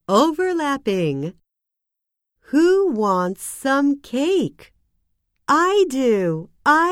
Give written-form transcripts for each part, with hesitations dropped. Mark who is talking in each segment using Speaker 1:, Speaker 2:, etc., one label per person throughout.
Speaker 1: Overlapping. Who wants some cake? I do.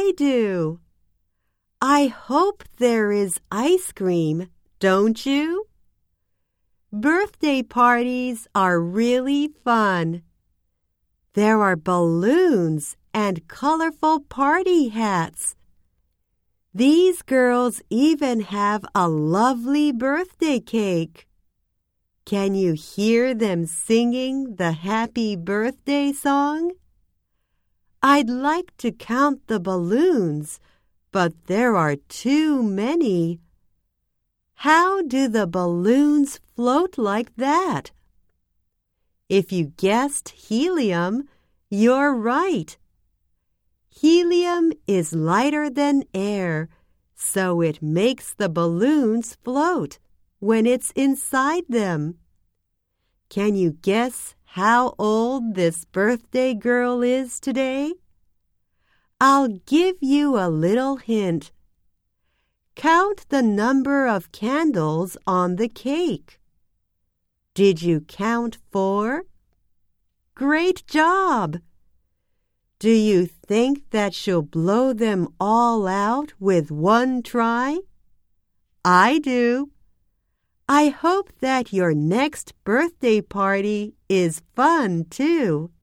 Speaker 1: I hope there is ice cream, don't you? Birthday parties are really fun. There are balloons and colorful party hats. These girls even have a lovely birthday cake. Can you hear them singing the happy birthday song? I'd like to count the balloons, but there are too many. How do the balloons float like that? If you guessed helium, you're right. Helium is lighter than air, so it makes the balloons float when it's inside them. Can you guess how old this birthday girl is today? I'll give you a little hint. Count the number of candles on the cake. Did you count 4? Great job! Do you think that she'll blow them all out with one try? I do. I hope that your next birthday party is fun too.